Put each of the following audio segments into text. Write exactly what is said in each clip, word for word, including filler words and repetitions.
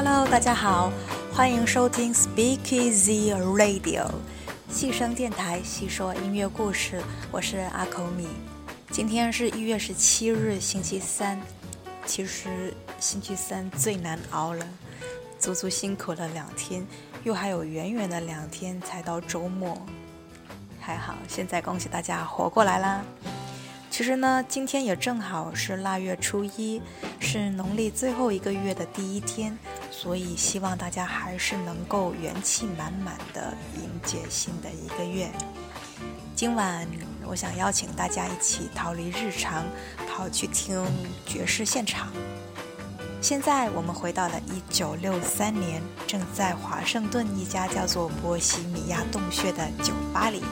Hello， 大家好，欢迎收听 Speakeasy Radio 细声电台，细说音乐故事。我是阿口米。今天是一月十七日，星期三。其实星期三最难熬了，足足辛苦了两天，又还有远远的两天才到周末。还好，现在恭喜大家活过来啦。其实呢，今天也正好是腊月初一，是农历最后一个月的第一天，所以希望大家还是能够元气满满的迎接新的一个月。今晚我想邀请大家一起逃离日常，跑去听爵士现场。现在我们回到了一九六三年，正在华盛顿一家叫做波西米亚洞穴的酒吧里。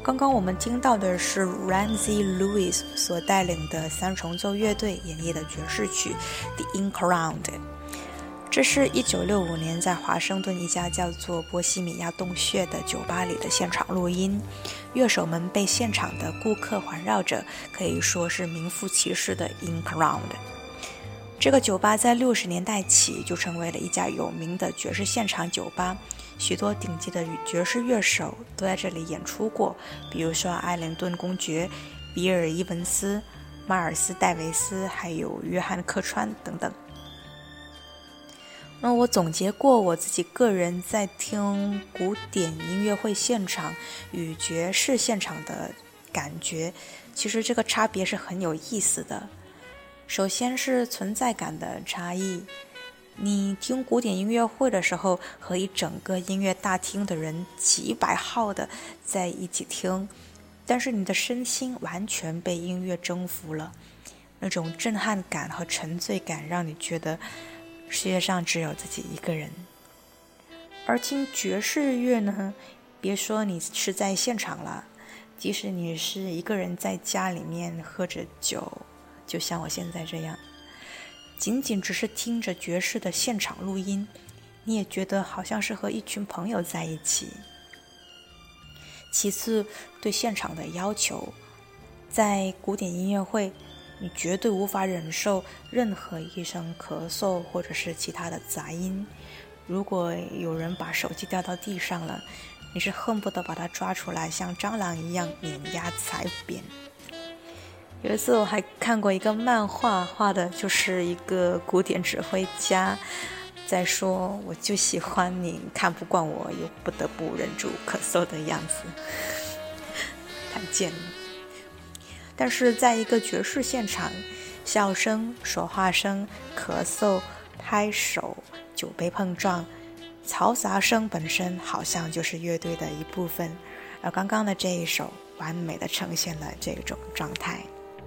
刚刚我们听到的是 Ramsey Lewis 所带领的三重奏乐队演绎的爵士曲 The In Crowd。 这是一九六五年在华盛顿一家叫做波西米亚洞穴的酒吧里的现场录音，乐手们被现场的顾客环绕着，可以说是名副其实的 In Crowd。 这个酒吧在六十年代起就成为了一家有名的爵士现场酒吧，许多顶级的爵士乐手都在这里演出过，比如说艾灵顿公爵、比尔·伊文斯、马尔斯·戴维斯，还有约翰·客川等等。那我总结过我自己个人在听古典音乐会现场与爵士现场的感觉，其实这个差别是很有意思的。首先是存在感的差异，你听古典音乐会的时候，和一整个音乐大厅的人几百号的在一起听，但是你的身心完全被音乐征服了，那种震撼感和沉醉感让你觉得世界上只有自己一个人。而听爵士乐呢，别说你是在现场了，即使你是一个人在家里面喝着酒，就像我现在这样，仅仅只是听着爵士的现场录音，你也觉得好像是和一群朋友在一起。其次，对现场的要求，在古典音乐会你绝对无法忍受任何一声咳嗽或者是其他的杂音，如果有人把手机掉到地上了，你是恨不得把它抓出来像蟑螂一样碾压踩扁。有一次我还看过一个漫画，画的就是一个古典指挥家在说，我就喜欢你看不惯我又不得不忍住咳嗽的样子，太贱了。但是在一个爵士现场，笑声、说话声、咳嗽、拍手、酒杯碰撞，嘈杂声本身好像就是乐队的一部分，而刚刚的这一首完美地呈现了这种状态。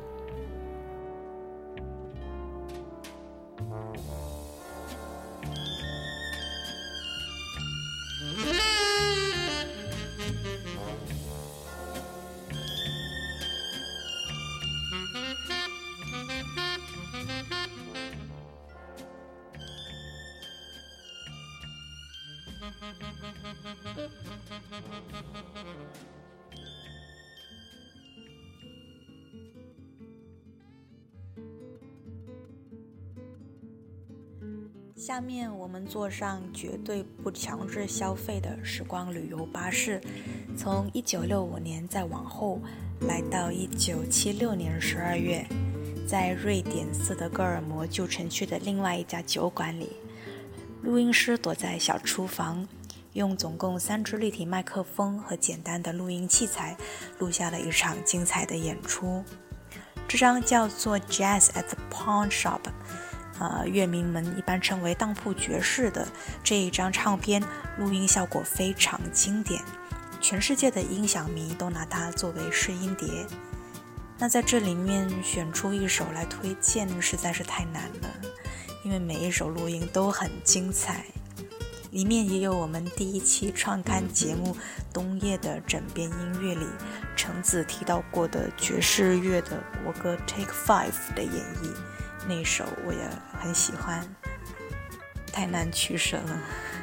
下面我们坐上绝对不强制消费的时光旅游巴士，从一九六五年再往后来到一九七六年十二月，在瑞典斯德哥尔摩旧城区的另外一家酒馆里，录音师躲在小厨房，用总共三支立体麦克风和简单的录音器材录下了一场精彩的演出。这张叫做 Jazz at the Pawn Shop，呃，乐迷们一般称为当铺爵士的这一张唱片，录音效果非常经典，全世界的音响迷都拿它作为试音碟。那在这里面选出一首来推荐实在是太难了，因为每一首录音都很精彩，里面也有我们第一期创刊节目冬夜的枕边音乐里橙子提到过的爵士乐的国歌 Take Five 的演绎，那首我也很喜欢，太难取舍了。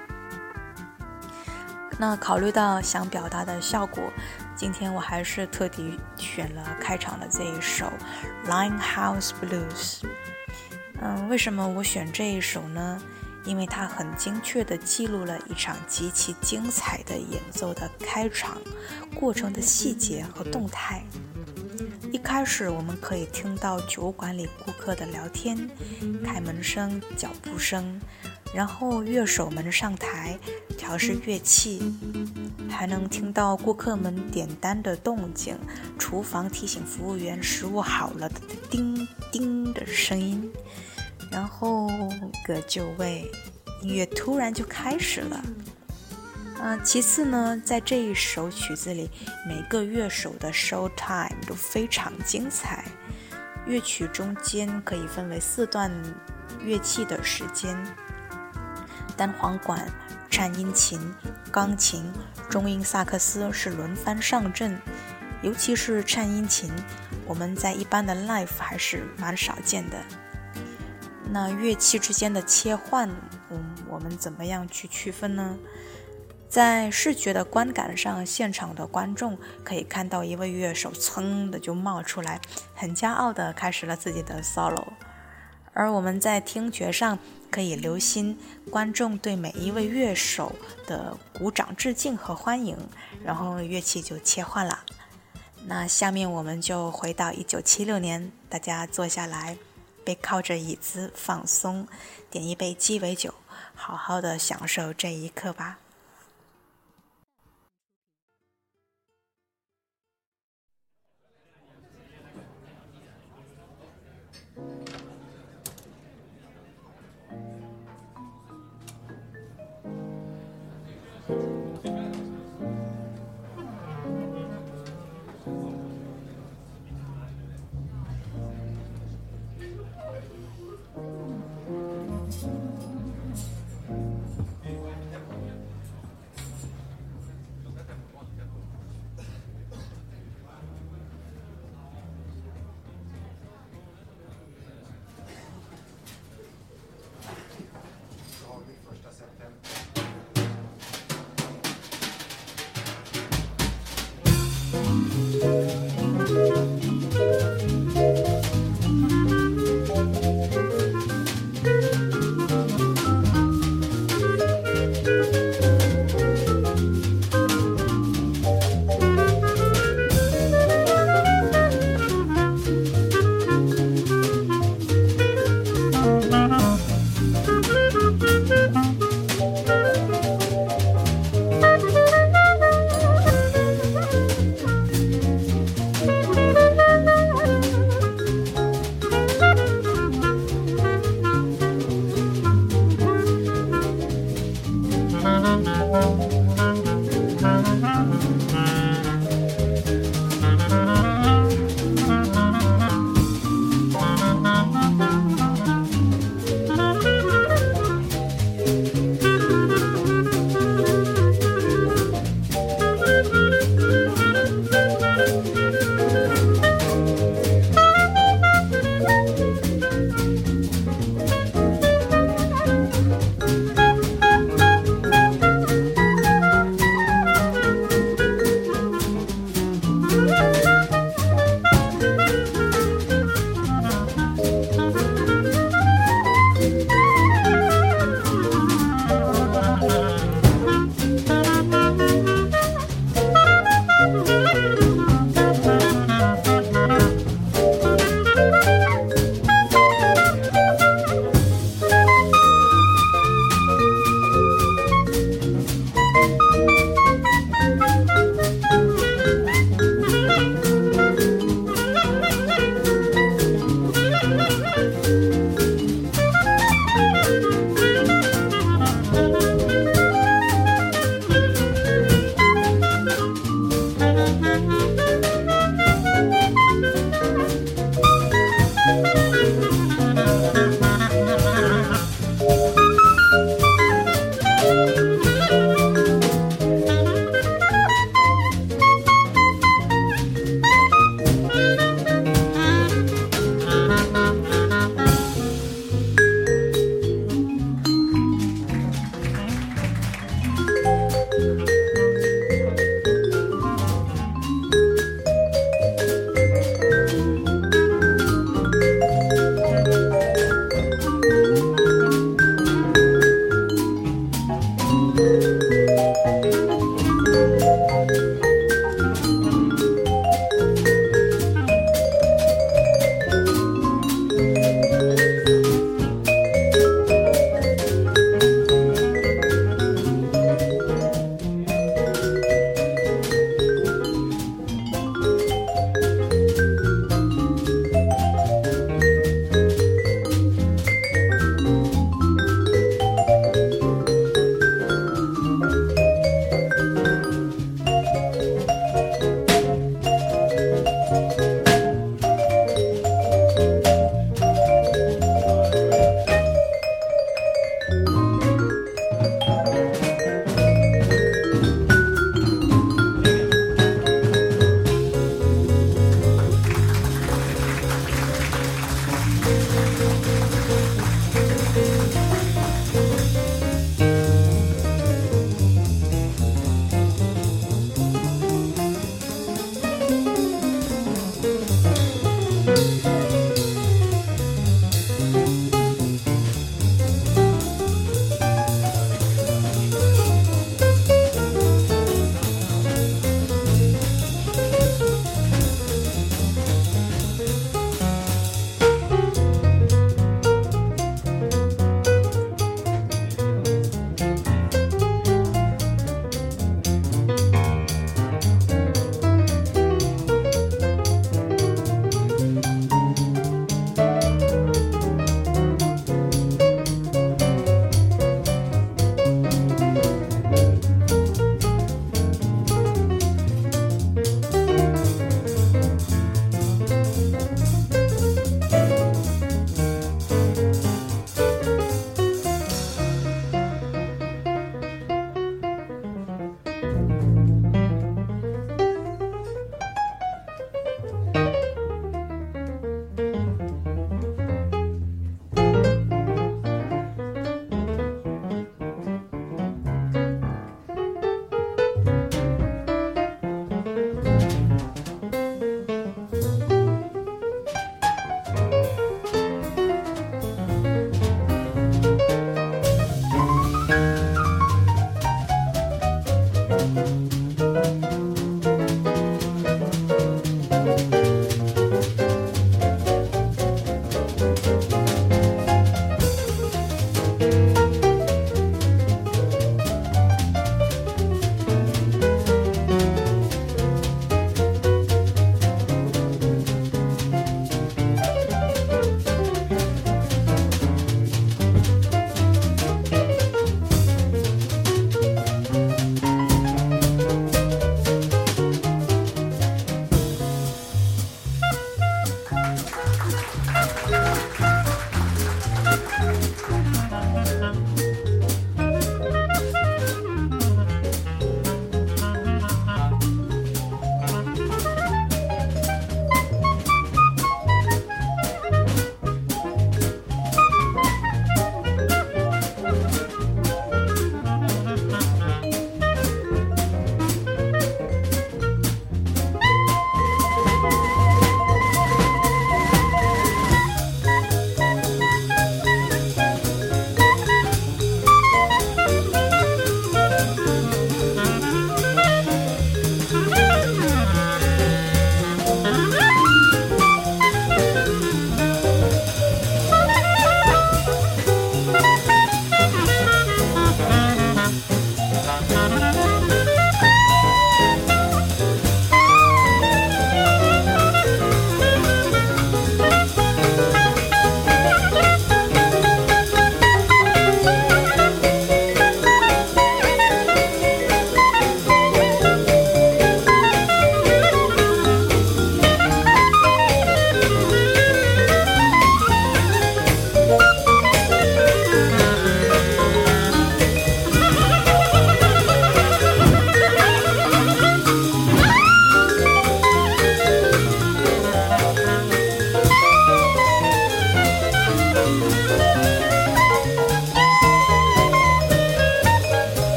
那考虑到想表达的效果，今天我还是特地选了开场的这一首 Limehouse Blues。 嗯，为什么我选这一首呢？因为它很精确地记录了一场极其精彩的演奏的开场过程的细节和动态。一开始我们可以听到酒馆里顾客的聊天、开门声、脚步声，然后乐手们上台调试乐器，还能听到顾客们点单的动静，厨房提醒服务员食物好了的叮叮的声音，然后个就位，音乐突然就开始了。呃，其次呢，在这一首曲子里，每个乐手的 show time 都非常精彩。乐曲中间可以分为四段乐器的时间：单簧管、 颤音琴、钢琴、中音萨克斯是轮番上阵，尤其是颤音琴，我们在一般的 live 还是蛮少见的。那乐器之间的切换，嗯，我们怎么样去区分呢？在视觉的观感上，现场的观众可以看到一位乐手噌的就冒出来，很骄傲的开始了自己的 solo。而我们在听觉上可以留心观众对每一位乐手的鼓掌致敬和欢迎，然后乐器就切换了。那下面我们就回到一九七六年，大家坐下来，背靠着椅子放松，点一杯鸡尾酒，好好的享受这一刻吧。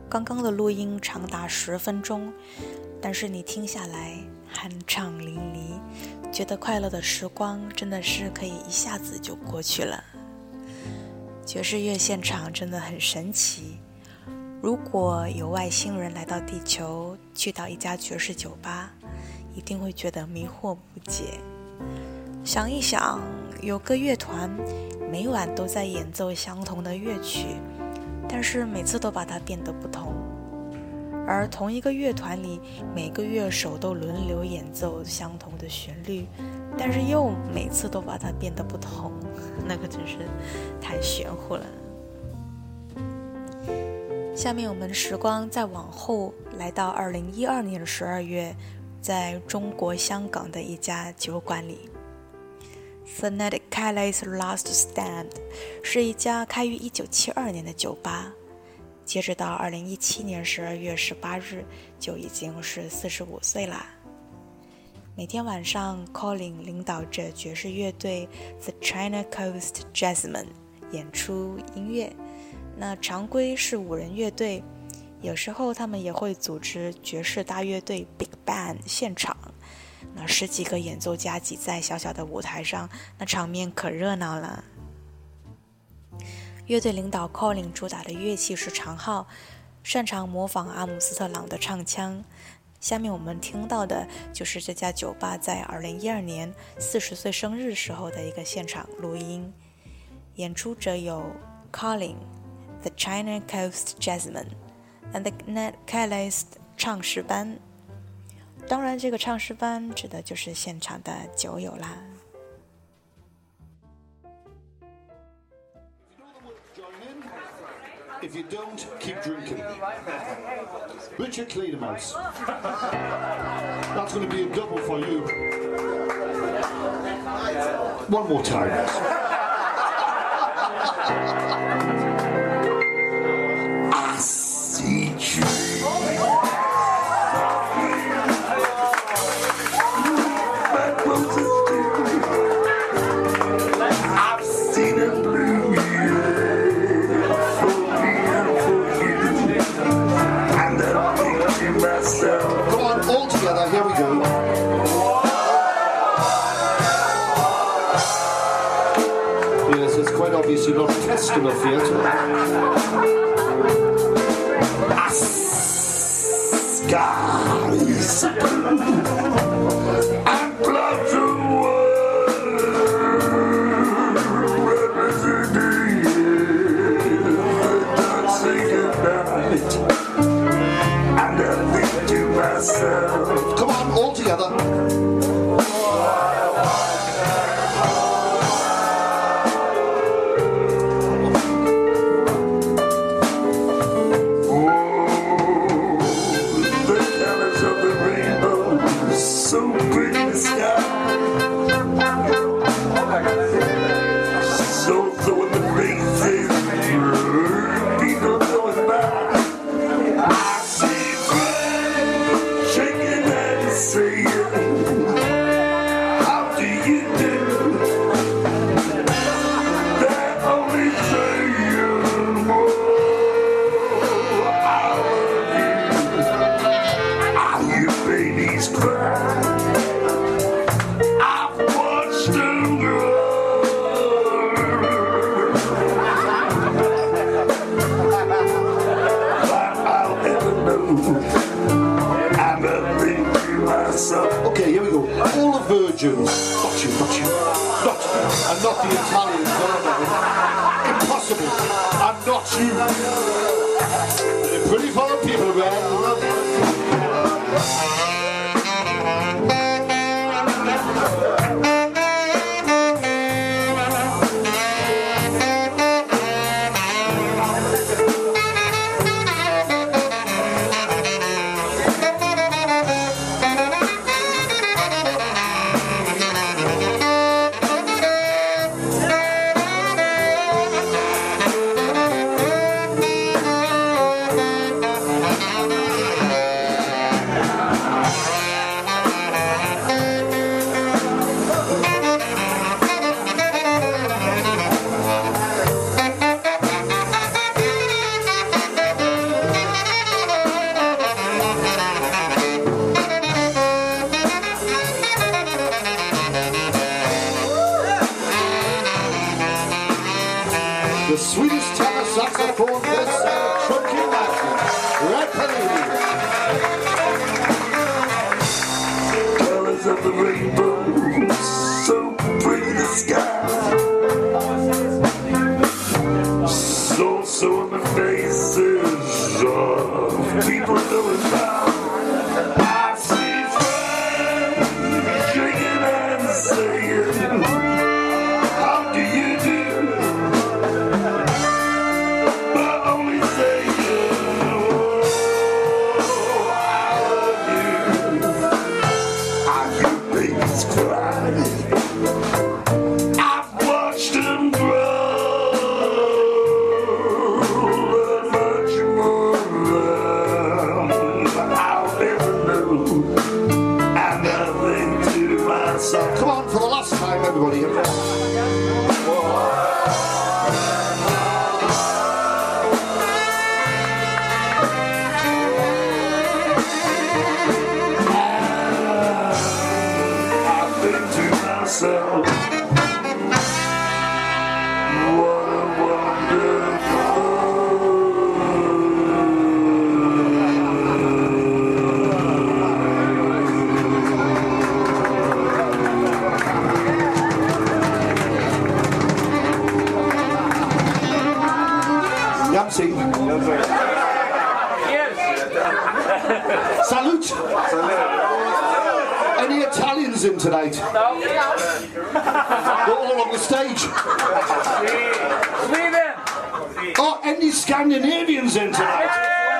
刚刚的录音长达十分钟，但是你听下来酣畅淋漓，觉得快乐的时光真的是可以一下子就过去了。爵士乐现场真的很神奇，如果有外星人来到地球，去到一家爵士酒吧，一定会觉得迷惑不解。想一想，有个乐团每晚都在演奏相同的乐曲，但是每次都把它变得不同，而同一个乐团里每个乐手都轮流演奏相同的旋律，但是又每次都把它变得不同，那个真是太玄乎了。下面我们时光再往后来到二零一二年十二月，在中国香港的一家酒馆里， The Ned Kelly's Last Stand 是一家开于一九七二年的酒吧，截止到二零一七年十二月十八日就已经是四十五岁啦。每天晚上 Colin 领导着爵士乐队 The China Coast Jazzmen 演出音乐，那常规是五人乐队，有时候他们也会组织爵士大乐队 Big Band 现场，那十几个演奏家挤在小小的舞台上，那场面可热闹了。乐队领导 Colin 主打的乐器是长号，擅长模仿阿姆斯特朗的唱腔。下面我们听到的就是这家酒吧在二零一二年四十岁生日时候的一个现场录音，演出者有 Colin、 The China Coast Jazzmen and the Ned Kelly's 唱诗班，当然这个唱诗班指的就是现场的酒友啦。 If you don't, keep drinking. Richard Cleedermouse. That's going to be a double for you. One more time. I see you. I've seen it blue. Come on, all together, here we go. Yes, it's quite obvious you're not test enough yet. Skies and clouds of white representing dancing goodnight. Come on, all together. Oh, the colors of the rainbow, so pretty in the sky. So throwing the faces, people going by. I see how do you do? They're only saying, oh, I love you. Are you babies cry? I've watched them grow. But I'll ever know. I'm a big Okay, here we go. All the virgins. Not you, not you. Not you. And not the Italians. No, no, no. Impossible. I'm not you. They're pretty fun people, man. The Swedish tenor saxophone player, Trumpkin Martin. Red Pelini. Colors of the rainbow, so pretty the sky. So, so in the faces of people going by. I see friends shaking and saying, how do you do? But only saying, oh, I love you. I hear babies cry. I've watched them grow. So come on for the last time, everybody. I think to myself, what a wonderful. Yamsi. Salute. Any Italians in tonight? No. All along the stage. Sweden. Oh, any Scandinavians in tonight?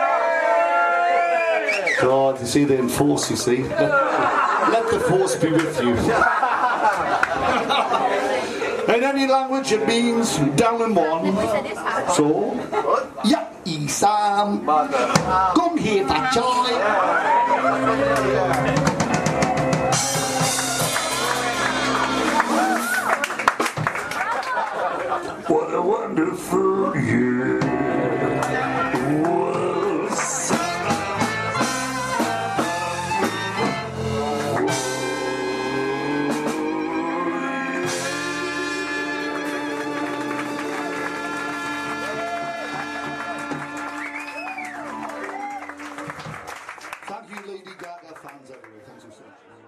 God, you see the enforce, you see. Let, let the force be with you. In any language it means down in one. So, ja, isam, kom hier facciai. What a wonderful year was. Thank you, Lady Gaga fans everywhere. Thanks so much.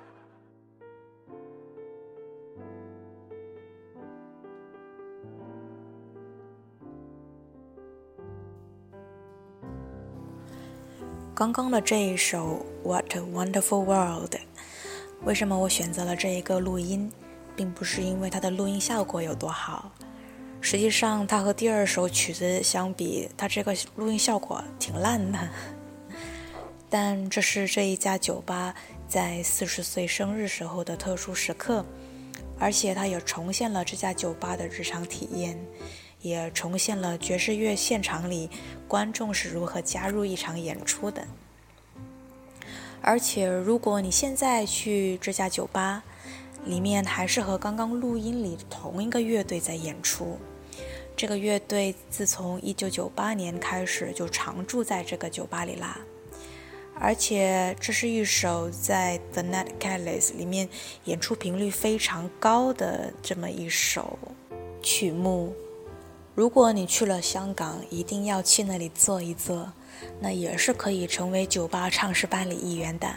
刚刚的这一首 What a Wonderful World， 为什么我选择了这一个录音，并不是因为它的录音效果有多好，实际上它和第二首曲子相比，它这个录音效果挺烂的。但这是这一家酒吧在四十岁生日时候的特殊时刻，而且它也重现了这家酒吧的日常体验，也重现了爵士乐现场里观众是如何加入一场演出的。而且如果你现在去这家酒吧，里面还是和刚刚录音里同一个乐队在演出。这个乐队自从一九九八年开始就常驻在这个酒吧里啦。而且这是一首在 The Nutcrackers 里面演出频率非常高的这么一首曲目。如果你去了香港，一定要去那里坐一坐，那也是可以成为酒吧唱诗班里一员的。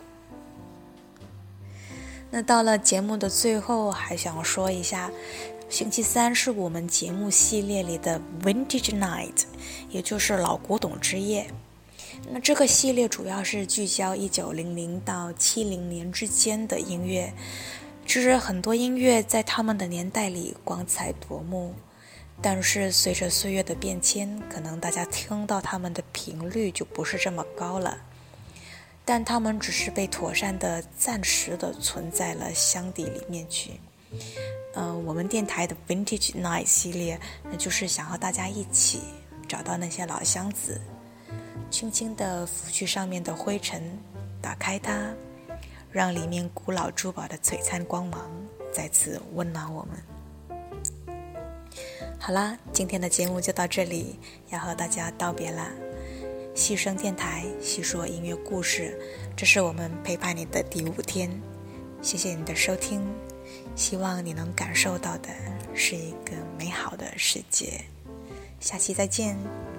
那到了节目的最后，还想说一下，星期三是我们节目系列里的 Vintage Night， 也就是老古董之夜。那这个系列主要是聚焦一九零零到七零年之间的音乐，其实很多音乐在他们的年代里光彩夺目，但是随着岁月的变迁，可能大家听到他们的频率就不是这么高了，但他们只是被妥善的暂时的存在了箱底里面去。呃，我们电台的 Vintage Night 系列，那就是想和大家一起找到那些老箱子，轻轻地拂去上面的灰尘，打开它，让里面古老珠宝的璀璨光芒再次温暖我们。好啦，今天的节目就到这里，要和大家道别啦。细声电台细说音乐故事，这是我们陪伴你的第五天，谢谢你的收听，希望你能感受到的是一个美好的世界。 下期再见。